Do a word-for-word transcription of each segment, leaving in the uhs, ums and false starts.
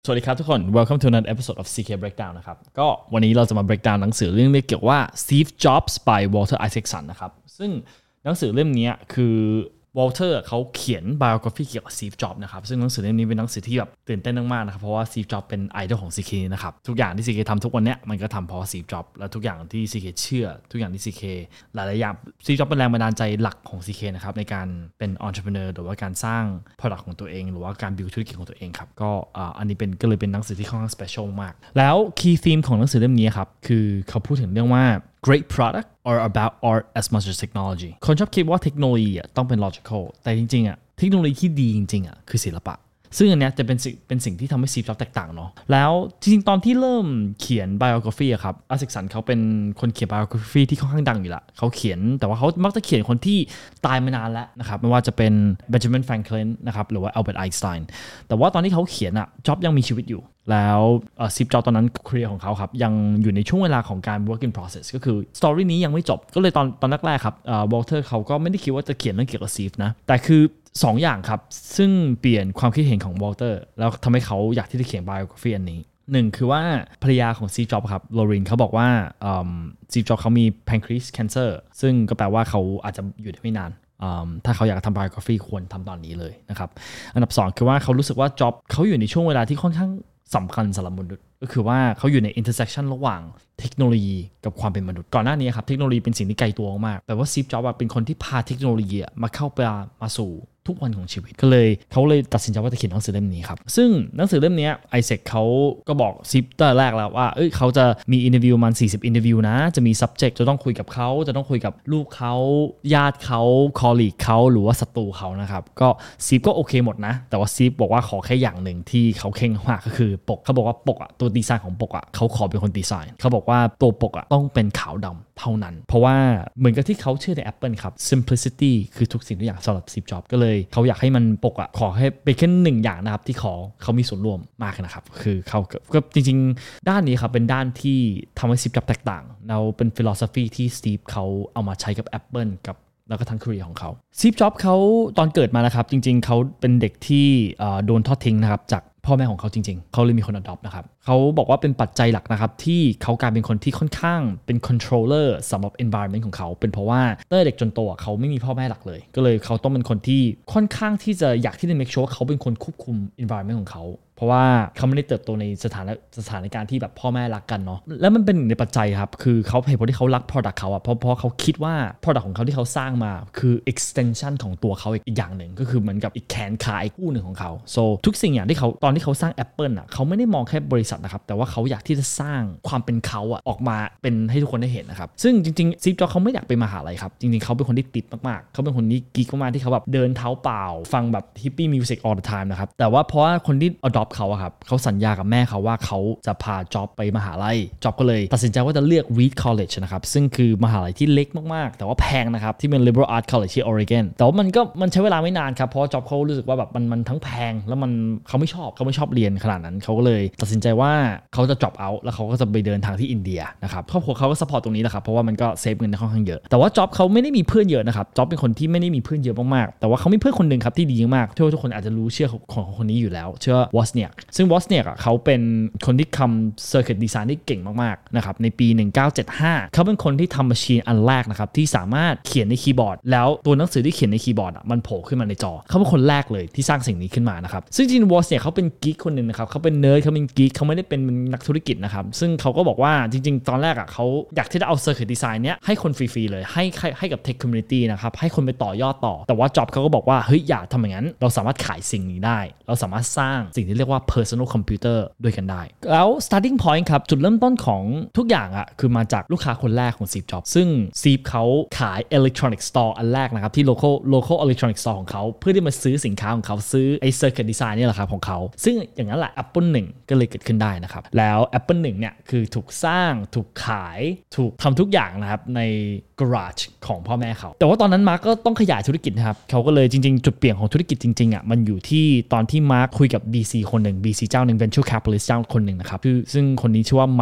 สวัสดีครับทุกคน Welcome to another episode of ซี เค Breakdown นะครับก็วันนี้เราจะมา breakdown หนังสือเรื่องนี้เกี่ยวว่า Steve Jobs by Walter Isaacson นะครับซึ่งหนังสือเล่มนี้คือวอลเตอร์เขาเขียน biography เกี่ยวกับ Steve Jobs นะครับซึ่งหนังสือเล่มนี้เป็นหนังสือที่แบบตื่นเต้นมากๆนะครับเพราะว่า Steve Jobs เป็นไอดอลของ ซี เค นะครับทุกอย่างที่ ซี เค ทำทุกวันนี้มันก็ทำเพราะ Steve Jobs และทุกอย่างที่ ซี เค เชื่อทุกอย่างที่ ซี เค หลายๆอย่าง Steve Jobs เป็นแรงบันดาลใจหลักของ ซี เค นะครับในการเป็น entrepreneur หรือว่าการสร้าง product ของตัวเองหรือว่าการ build ธุรกิจของตัวเองครับก็อันนี้เป็นก็เลยเป็นหนังสือที่ค่อนข้าง special มากแล้ว key theme ของหนังสือเล่มนี้ครับคือเขาพูดถึงเรื่องว่าgreat product or about art as much as technology คนชอบคิดว่าเทคโนโลยีต้องเป็น logical แต่จริงๆอ่ะเทคโนโลยีที่ดีจริงๆอ่ะคือศิลปะซึ่งอันเนี้ยจะเป็นสิ่งเป็นสิ่งที่ทำให้ Steve Jobs แตกต่างเนาะแล้วจริงๆตอนที่เริ่มเขียน biography อะครับอาเซกสันเขาเป็นคนเขียน biography ที่ค่อนข้างดังอยู่ละเขาเขียนแต่ว่าเขามักจะเขียนคนที่ตายมานานแล้วนะครับไม่ว่าจะเป็น Benjamin Franklin นะครับหรือว่า Albert Einstein แต่ว่าตอนที่เขาเขียนอะ Jobs ยังมีชีวิตอยู่แล้วSteve Jobs ตอนนั้นเครียร์ของเขาครับยังอยู่ในช่วงเวลาของการ work in process ก็คือ story นี้ยังไม่จบก็เลยตอนตอนแรกๆครับวอลเตอร์เขาก็ไม่ได้คิดว่าจะเขียนเรื่องเกี่ยวกับ Steve นะแต่คือสอง อย่างครับซึ่งเปลี่ยนความคิดเห็นของวอลเตอร์แล้วทำให้เขาอยากที่จะเขียน biography อันนี้หนึ่งคือว่าภรรยาของ Steve Jobs ครับโลรินเขาบอกว่า Steve Jobs เขามี pancreas cancer ซึ่งก็แปลว่าเขาอาจจะอยู่ได้ไม่นานถ้าเขาอยากทำ biography ควรทำตอนนี้เลยนะครับอันดับสองคือว่าเขารู้สึกว่า Jobs เขาอยู่ในช่วงเวลาที่ค่อนข้างสำคัญสำหรับมนุษย์ก็คือว่าเขาอยู่ใน intersection ระหว่างเทคโนโลยีกับความเป็นมนุษย์ก่อนหน้านี้ครับเทคโนโลยีเป็นสิ่งที่ไกลตัวมากแต่ว่า Steve Jobs เป็นคนที่พาเทคโนโลยีมาเข้าไปมาสู่ทุกวันของชีวิตก็เลยเขาเลยตัดสินใจว่าจะเขียนหนังสือเล่มนี้ครับซึ่งหนังสือเล่มนี้ไอแซคเขาก็บอกซิปตั้งแต่แรกแล้วว่าเอ้ยเขาจะมีอินเทอร์วิวมันสี่สิบอินเทอร์วิวนะจะมี subject จะต้องคุยกับเขาจะต้องคุยกับลูกเขาญาติเขาคอลลีกเขาหรือว่าศัตรูเขานะครับก็ซิปก็โอเคหมดนะแต่ว่าซิปบอกว่าขอแค่อย่างหนึ่งที่เขาเข่งมากก็คือปกเขาบอกว่าปกอะตัวดีไซน์ของปกอะเขาขอเป็นคนดีไซน์เขาบอกว่าตัวปกอะต้องเป็นขาวดำเท่านั้นเพราะว่าเหมือนกับที่เขาเชื่อใน Apple ครับ simplicity คือทุกสิ่งทุกอย่างสำหรับ Steve Jobs ก็เลยเขาอยากให้มันปกอ่ะขอให้เป็นแค่หนึ่งอย่างนะครับที่ขอเขามีส่วนร่วมมากนะครับคือเขาก็จริงๆด้านนี้ครับเป็นด้านที่ทำให้ Steve Jobs แตกต่างเราเป็น philosophy ที่ Steve เขาเอามาใช้กับ Apple กับแล้วก็ทั้ง career ของเขา Steve Jobs เขาตอนเกิดมานะครับจริงๆเขาเป็นเด็กที่โดนทอดทิ้งนะครับจากพ่อแม่ของเขาจริงๆเขาเลยมีคน adopt นะครับเขาบอกว่าเป็นปัจจัยหลักนะครับที่เขากลายเป็นคนที่ค่อนข้างเป็น controller สำหรับ environment ของเขาเป็นเพราะว่าตั้งแต่เด็กจนโตเขาไม่มีพ่อแม่หลักเลยก็เลยเขาต้องเป็นคนที่ค่อนข้างที่จะอยากที่จะ make sure ว่าเขาเป็นคนควบคุม environment ของเขาเพราะว่าเขาไม่ได้เติบโตในสถานสถานการณ์ที่แบบพ่อแม่รักกันเนาะแล้วมันเป็นหนึ่งในปัจจัยครับคือเขาเหตุผลที่เขารัก product เขาอะเพราะเพราะเขาคิดว่า product ของเขาที่เขาสร้างมาคือ extension ของตัวเขาอีกอย่างหนึ่งก็คือเหมือนกับอีกแขนขาอีกคู่หนึ่งของเขา so ทุกสิ่งอย่างที่เขาตอนที่เขาสร้าง Apple อะเขาไม่ได้มองแค่บริษัทนะครับแต่ว่าเขาอยากที่จะสร้างความเป็นเขาอะออกมาเป็นให้ทุกคนได้เห็นนะครับซึ่งจริงๆ Steve Jobs เขาไม่อยากไปมหาลัยครับจริงๆเขาเป็นคนที่ติดมากๆเขาเป็นคนที่กิ๊กมากๆที่เขาแบบเดินเท้าเปล่าฟังแบบ hippie music all the time นะครับแต่ว่าเพราะว่าคนที่ adopt เขาอะครับเขาสัญญากับแม่เขาว่าเขาจะพา Jobs ไปมหาลัย Jobs ก็เลยตัดสินใจว่าจะเลือก Reed College นะครับซึ่งคือมหาลัยที่เล็กมากๆแต่ว่าแพงนะครับที่เป็น Liberal Arts College ที่ Oregon แต่ว่ามันก็มันใช้เวลาไม่นานครับเพราะ Jobs เขารู้สึกว่าแบบมันมันทั้งแพงแล้วมันเขาไม่ชอบเขาไม่ชอบเรียนขนาดนั้นเขาก็เลยตัดสินใจว่าเขาจะ drop out แล้วเขาก็จะไปเดินทางที่อินเดียนะครับครอบครัวเขาก็ support ตรงนี้แหละครับเพราะว่ามันก็เซฟเงินค่อนข้างเยอะแต่ว่า Jobs เขาไม่ได้มีเพื่อนเยอะนะครับ Jobs เป็นคนที่ไม่ได้มีเพื่อนเยอะมากๆแต่ว่าเขามีเพื่อนคนนึงครับที่ดีมากที่ทุกคนอาจจะรู้เชื่อของคนนี้อยู่แล้วเชื่อ Wozniak ซึ่ง Wozniak อ่ะเขาเป็นคนที่ทำ circuit design ได้เก่งมากๆนะครับในปีหนึ่งพันเก้าร้อยเจ็ดสิบห้าเขาเป็นคนที่ทำ machine อันแรกนะครับที่สามารถเขียนในคีย์บอร์ดแล้วตัวหนังสือที่เขียนในคีย์บอร์ดอ่ะมันโผล่ขึ้นมาในจอเขาเป็นคนแรกเลยที่สร้างสิ่งนี้ขึ้นมานะครับซึ่งจริงๆ Wozniak เขาเป็นกิ๊กคนนึงนะครับเขาเป็นเนิร์ดเขาเป็นกิ๊กเขาไม่ได้เป็นนักธุรกิจนะครับซึ่งเขาก็บอกว่าจริงๆตอนแรกอ่ะเขาอยากที่จะเอา circuit design เนี้ยให้คนฟรีๆเลยให้ให้กับ tech community นะครับให้คนไปต่อยอดต่อแต่ว่า Jobs เขาก็บอกว่าเฮ้ยอย่าทำอย่างนั้นเราสามารถขายสิ่งนี้ได้เราสามารถสร้างสิ่งที่เรียกว่า personal computer ด้วยกันได้แล้ว starting point ครับจุดเริ่มต้นของทุกอย่างอ่ะคือมาจากลูกค้าคนแรกของ Steve Jobs ซึ่ง Steve เขาขาย electronic store อันแรกนะครับที่ local local electronic store ของเขาเพื่อที่มาซื้อสินค้าของเขาซื้อไอ้ circuit design นี่แหละครับของเขาซึ่งอย่างนั้นแหละ Apple หนึ่งก็เลยเกิดขึ้นได้นะครับแล้ว Apple หนึ่งเนี่ยคือถูกสร้างถูกขายถูกทำทุกอย่างนะครับใน garage ของพ่อแม่เขาแต่ว่าตอนนั้นมาร์กก็ต้องขยายธุรกิจนะครับเขาก็เลยจริงๆจุดเปลี่ยนของธุรกิจจริงๆอ่ะมันอยู่ที่ตอนที่มาร์กคุยกับ บี ซี คนหนึ่ง บี ซี เจ้าหนึ่ง venture capitalist เจ้าคนหนึ่งนะครับซึ่งคนนี้ชื่อว่า Mike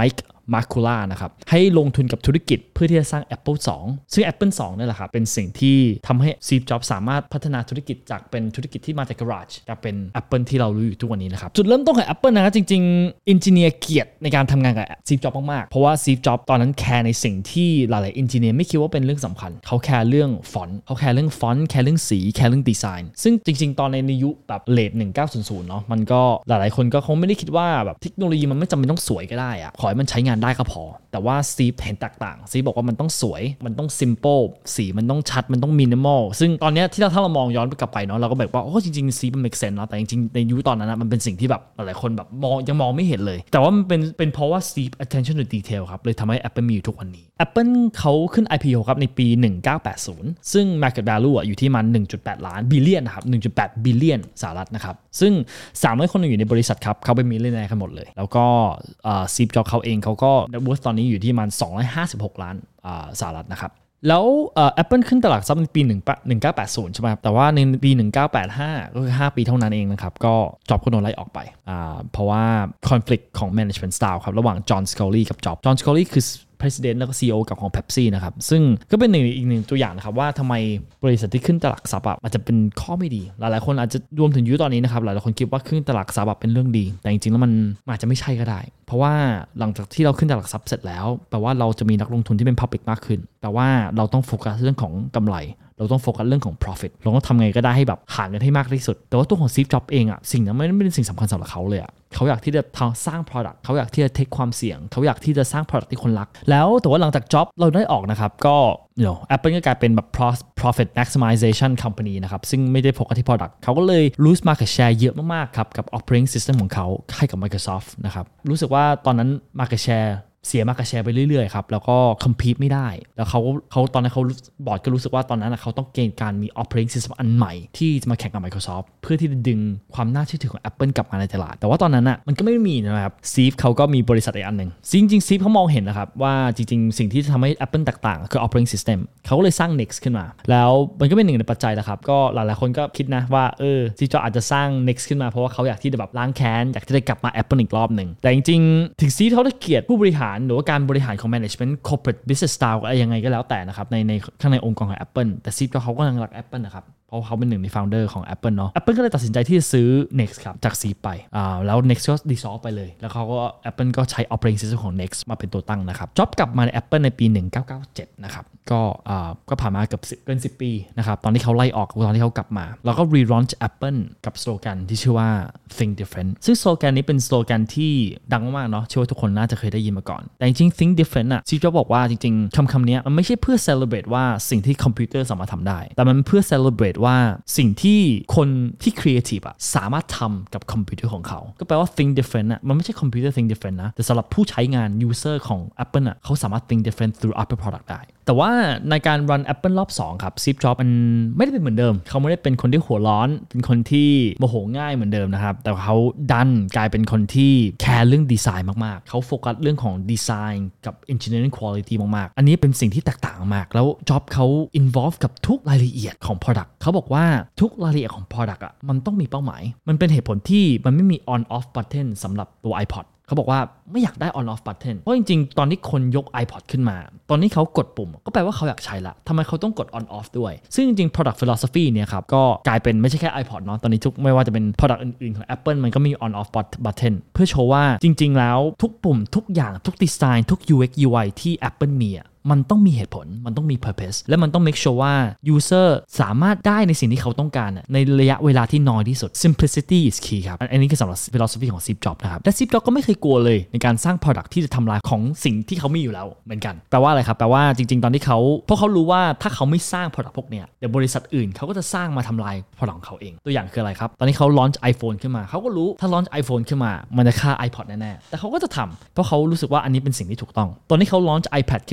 มาร์คูล่านะครับให้ลงทุนกับธุรกิจเพื่อที่จะสร้าง Apple ทู ซึ่ง Apple ทูนี่แหละครับเป็นสิ่งที่ทำให้ Steve Jobs สามารถพัฒนาธุรกิจจากเป็นธุรกิจที่มาจาก garage กลายเป็น Apple ที่เรารู้อยู่ทุกวันนี้นะครับจุดเริ่มต้นของ Apple นะครับจริงๆ engineer เกลียดในการทำงานกับ Steve Jobs มากๆเพราะว่า Steve Jobs ตอนนั้นแคร์ในสิ่งที่หลายๆ engineer ไม่คิดว่าเป็นเรื่องสำคัญเขาแคร์เรื่องฟอนต์เขาแคร์เรื่องฟอนต์แคร์เรื่องสีแคร์เรื่องดีไซน์ซึ่งจริงๆตอนในยุคแบบเลทหนึ่งพันเก้าร้อยเนาะมันก็หลายๆคนก็คงไม่ได้คิดว่าแบบเทคโนโลยีมันไม่จำเป็นต้องสวยก็ได้อะขอให้มันใช้งานได้ก็พอแต่ว่า Steve เห็นแตกต่าง Steve บอกว่ามันต้องสวยมันต้อง simple สีมันต้องชัดมันต้อง minimal ซึ่งตอนนี้ที่เราถ้าเรามองย้อนกลับไปเนาะเราก็แบบว่าโอ้จริงๆ Steve มัน make sense เนาะแต่จริงๆในยุคตอนนั้นนะมันเป็นสิ่งที่แบบหลายๆคนแบบมองยังมองไม่เห็นเลยแต่ว่ามันเป็นเป็นเพราะว่า Steve attention to detail ครับเลยทำให้ Apple มีอยู่ทุกวันนี้ Apple เขาขึ้น ไอ พี โอ ครับในปีหนึ่งพันเก้าร้อยแปดสิบซึ่ง market value อ่ะอยู่ที่มัน หนึ่งจุดแปด ล้าน billion นะครับ หนึ่งจุดแปด billion สหรัฐนะครับซึ่งสามร้อยคนอยู่ในบริษัทครับเขาเป็นมิลเลนเนียร์กันหมดเลยแล้วก็ซีฟจ็อบเขาเองเขาก็ net worth ตอนนี้อยู่ที่มันสองร้อยห้าสิบหกล้านสหรัฐนะครับแล้ว Apple ขึ้นตลาดซับในปีหนึ่งพันเก้าร้อยแปดสิบใช่ไหมครับแต่ว่าในปีหนึ่งพันเก้าร้อยแปดสิบห้าก็คือห้าปีเท่านั้นเองนะครับก็จ็อบก็โดนไล่ออกไปเพราะว่า conflict ของ management style ครับระหว่างจอห์นสกอลลี่กับจ็อบจอห์นสกอลลี่คือPresident แล้วก็ ซี อี โอ กับของ Pepsi นะครับซึ่งก็เป็นหนึ่งอีกหนึ่งตัวอย่างนะครับว่าทำไมบริษัทที่ขึ้นตลาดซับอ่ะมันจะเป็นข้อไม่ดีหลายๆคนอาจจะรวมถึงยุคตอนนี้นะครับหลายๆคนคิดว่าขึ้นตลาดซับเป็นเรื่องดีแต่จริงๆแล้วมันอาจจะไม่ใช่ก็ได้เพราะว่าหลังจากที่เราขึ้นตลาดซับเสร็จแล้วแปลว่าเราจะมีนักลงทุนที่เป็น public มากขึ้นแต่ว่าเราต้องโฟกัสเรื่องของกำไรเราต้องโฟกัสเรื่องของ profit เราต้องทำไงก็ได้ให้แบบหาเงินให้มากที่สุดแต่ว่าตัวของ Steve Jobs เองอ่ะสิ่งนั้นไม่ได้เป็นสิ่งสำคัญสำหรับเขาเลยอ่ะเขาอยากที่จะสร้าง product เขาอยากที่จะ take ความเสี่ยงเขาอยากที่จะสร้าง product ที่คนรักแล้วแต่ว่าหลังจาก Jobs เราได้ออกนะครับก็ you know Apple ก็กลายเป็นแบบ profit maximization company นะครับซึ่งไม่ได้โฟกัสที่ product เขาก็เลย lose market share เยอะมากๆครับกับ operating system ของเขาให้กับ Microsoft นะครับรู้สึกว่าตอนนั้น market shareเสียมากับแชร์ไปเรื่อยๆครับแล้วก็คอมพีทไม่ได้แล้วเขาเขาตอนนั้นเขาบอร์ดก็รู้สึกว่าตอนนั้นเขาต้องเกณฑ์การมี operating system อันใหม่ที่จะมาแข่งกับ Microsoft เพื่อที่จะดึงความน่าเชื่อถือของ Apple กลับมาในตลาดแต่ว่าตอนนั้นอ่ะมันก็ไม่มีนะครับ Steve เขาก็มีบริษัทอีกอันหนึ่งจริงๆ Steve เขามองเห็นนะครับว่าจริงๆสิ่งที่จะทำให้ Apple แตกต่างคือ operating system เขาก็เลยสร้าง Next ขึ้นมาแล้วมันก็เป็นหนึ่งในปัจจัยนะครับก็หลายๆคนก็คิดนะว่าเออ Steve Jobs อาจจะสร้าง Next ขึ้นมาเพราะว่าเขาอยากที่จะแบบล้างแค้นอยากที่จะกลับมา Apple อีกรอบนึงแต่จริงๆถึง Steve เขาได้เกลียดผู้บริหารหรือว่าการบริหารของ management corporate business style อะไรยังไงก็แล้วแต่นะครับในในข้างในองค์กรของ Apple แต่ Steve Jobs เขาก็ยังรัก Apple นะครับเพราะเขาเป็นหนึ่งใน founder ของ Apple เนาะ Apple ก็เลยตัดสินใจที่จะซื้อ Next ครับจาก Steve ไปอ่าแล้ว Next ก็ dissolve ไปเลยแล้วเขาก็ Apple ก็ใช้ operating system ของ Next มาเป็นตัวตั้งนะครับ Jobs กลับมาใน Apple ในปีหนึ่งพันเก้าร้อยเก้าสิบเจ็ดนะครับก็อ่าก็ผ่านมาเกือบเกินสิบปีนะครับตอนที่เขาไล่ออกตอนที่เขากลับมาแล้วก็ relaunch Apple กับสโลแกนที่ชื่อว่า think different ซึ่งสโลแกนนี้เป็นสโลแกนที่ดังมากๆเนาะเชื่อว่าทุกคนน่าจะเคยได้ยินมาก่อนแต่จริงๆ think different อ่ะ Steve Jobs บอกว่าจริงๆคำคำนี้มันไม่ใช่เพื่อ celebrate ว่าสิ่งที่คอมพิวเตอร์สามารถทำได้แต่มันเพื่อ celebrate ว่าสิ่งที่คนที่ creative อ่ะสามารถทำกับคอมพิวเตอร์ของเขาก็แปลว่า think different อ่ะมันไม่ใช่คอมพิวเตอร์ think different นะแต่สำหรับผู้ใช้งาน user ของ Apple อ่ะเขาสามารถ think different through Apple product ได้แต่ว่าในการ run Apple รอบสองครับ Steve Jobs มันไม่ได้เป็นเหมือนเดิมเขาไม่ได้เป็นคนที่หัวร้อนเป็นคนที่โมโหง่ายเหมือนเดิมนะครับแต่เขาดันกลายเป็นคนที่แคร์เรื่องดีไซน์มากๆเขาโฟกัสเรื่องของดีไซน์กับ engineering quality มากๆอันนี้เป็นสิ่งที่แตกต่างมากแล้ว Jobs เขา involve กับทุกรายละเอียดของ product เขาบอกว่าทุกรายละเอียดของ product อ่ะมันต้องมีเป้าหมายมันเป็นเหตุผลที่มันไม่มี on off button สำหรับตัว iPodเขาบอกว่าไม่อยากได้ on off button เพราะจริงๆตอนที่คนยก iPod ขึ้นมาตอนนี้เขากดปุ่มก็แปลว่าเขาอยากใช้ละทำไมเขาต้องกด on off ด้วยซึ่งจริงๆ product philosophy เนี่ยครับก็กลายเป็นไม่ใช่แค่ iPod เนาะตอนนี้ทุกไม่ว่าจะเป็น product อื่นๆของ Apple มันก็มี on off button เพื่อโชว์ว่าจริงๆแล้วทุกปุ่มทุกอย่างทุกดีไซน์ทุก ยู เอ็กซ์ ยู ไอ ที่ Apple มีอ่ะมันต้องมีเหตุผลมันต้องมี purpose และมันต้อง make sure ว่า user สามารถได้ในสิ่งที่เขาต้องการในระยะเวลาที่น้อยที่สุด simplicity is key ครับอันนี้คือสำหรับ philosophy ของ Steve Jobs นะครับและ Steve Jobs ก็ไม่เคยกลัวเลยในการสร้าง product ที่จะทำลายของสิ่งที่เขามีอยู่แล้วเหมือนกันแปลว่าอะไรครับแปลว่าจริงๆตอนที่เขาเพราะเขารู้ว่าถ้าเขาไม่สร้าง product พวกเนี้ยเดี๋ยวบริษัทอื่นเขาก็จะสร้างมาทำลาย product ของเขาเองตัวอย่างคืออะไรครับตอนนี้เขา launch iPhone ขึ้นมาเขาก็รู้ถ้า launch iPhone ขึ้นมามันจะฆ่า iPod แน่ๆแต่เขาก็จะทำเพราะเขารู้สึกว่าอันนี้เป็นสิ่งที่ถูกต้องตอนนี้เขา launch iPad ขึ้นมา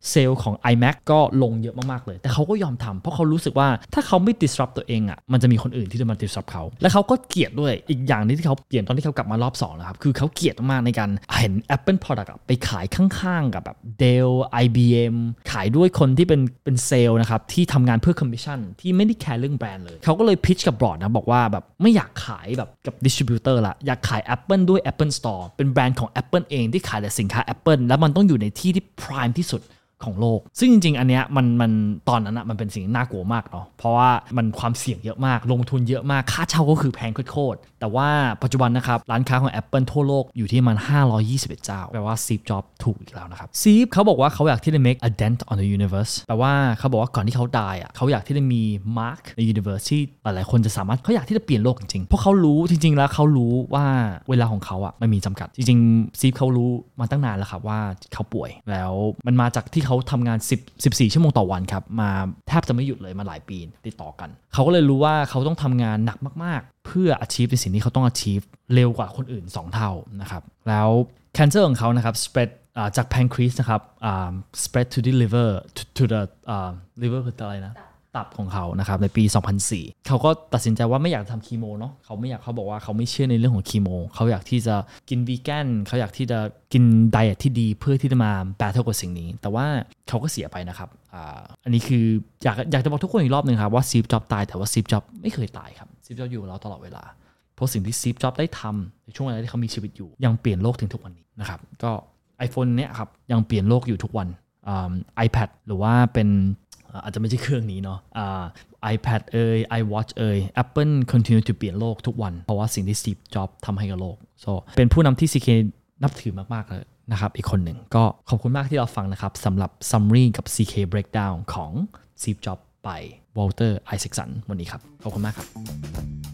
เซลล์ของ iMac ก็ลงเยอะมากๆเลยแต่เขาก็ยอมทำเพราะเขารู้สึกว่าถ้าเขาไม่ disrupt ตัวเองอ่ะมันจะมีคนอื่นที่จะมา disrupt เขาและเขาก็เกลียดด้วยอีกอย่างนึงที่เขาเปลี่ยนตอนที่เขากลับมารอบสองนะครับคือเขาเกลียดมากในการเห็น Apple Product ไปขายข้างๆกับแบบ Dell ไอ บี เอ็ม ขายด้วยคนที่เป็นเป็นเซลล์นะครับที่ทำงานเพื่อ commission ที่ไม่ได้แคร์เรื่องแบรนด์เลยเขาก็เลย pitch กับบอร์ดนะบอกว่าแบบไม่อยากขายแบบกับ distributor ละอยากขาย Apple ด้วย Apple Store เป็นแบรนด์ของ Apple เองที่ขายแต่สินค้า Apple แล้วมันต้องอยู่ในที่ที่ prime ที่สุดของโลกซึ่งจริงๆอันเนี้ยมันมันตอนนั้นอะมันเป็นสิ่งน่ากลัวมากเนาะเพราะว่ามันความเสี่ยงเยอะมากลงทุนเยอะมากค่าเช่าก็คือแพงโคตรๆแต่ว่าปัจจุบันนะครับร้านค้าของ Apple ทั่วโลกอยู่ที่มันห้าร้อยยี่สิบเอ็ดเจ้าแปลว่า Steve Jobs ถูกอีกแล้วนะครับ Steve เขาบอกว่าเขาอยากที่จะ make a dent on the universe แปลว่าเขาบอกว่าก่อนที่เขาตายอะเขาอยากที่จะมี mark ใน universe ที่หลายๆคนจะสามารถเขาอยากที่จะเปลี่ยนโลกจริงๆเพราะเขารู้จริงๆแล้วเขารู้ว่าเวลาของเขาอะมันมีจำกัดจริงๆ Steve เขารู้มาตั้งนานแล้วครับว่าเขาป่วยแล้วมันมาจากที่เขาทำงานสิบ สิบสี่ชั่วโมงต่อวันครับมาแทบจะไม่หยุดเลยมาหลายปีติดต่อกันเขาก็เลยรู้ว่าเขาต้องทำงานหนักมากๆเพื่อ achieve ในสิ่งที่เขาต้อง achieve เร็วกว่าคนอื่นสองเท่านะครับแล้ว cancer ของเขานะครับ spread จาก pancreas นะครับ spread to the liver to, to the uh, liver คืออะไรนะตับของเขานะครับในปี สองพันสี่เขาก็ตัดสินใจว่าไม่อยากทำคีโมเนาะเขาไม่อยากเขาบอกว่าเขาไม่เชื่อในเรื่องของคีโมเขาอยากที่จะกินวีแกนเขาอยากที่จะกินไดเอทที่ดีเพื่อที่จะมาแบทเทิลกับสิ่งนี้แต่ว่าเขาก็เสียไปนะครับ อ่า อันนี้คืออยากอยากจะบอกทุกคนอีกรอบนึงครับว่าซีฟจ็อบตายแต่ว่าซีฟจ็อบไม่เคยตายครับซีฟจ็อบอยู่กับเราตลอดเวลาเพราะสิ่งที่ซีฟจ็อบได้ทำในช่วงเวลาที่เขามีชีวิตอยู่ยังเปลี่ยนโลกถึงทุกวันนี้นะครับก็ iPhone เนี้ยครับยังเปลี่ยนโลกอยู่ทุกวันอ่า iPad หรือว่าเป็นอาจจะไม่ใช่เครื่องนี้เนาะอ่า iPad เอ่ย iWatch เอ่ย Apple continue to เปลี่ยนโลกทุกวันเพราะว่าสิ่งที่ Steve Jobs ทำให้กับโลก so เป็นผู้นำที่ ซี เค นับถือมากๆเลยนะครับอีกคนหนึ่งก็ขอบคุณมากที่เราฟังนะครับสำหรับ Summary กับ ซี เค Breakdown ของ Steve Jobs ไป Walter Isaacson วันนี้ครับขอบคุณมากครับ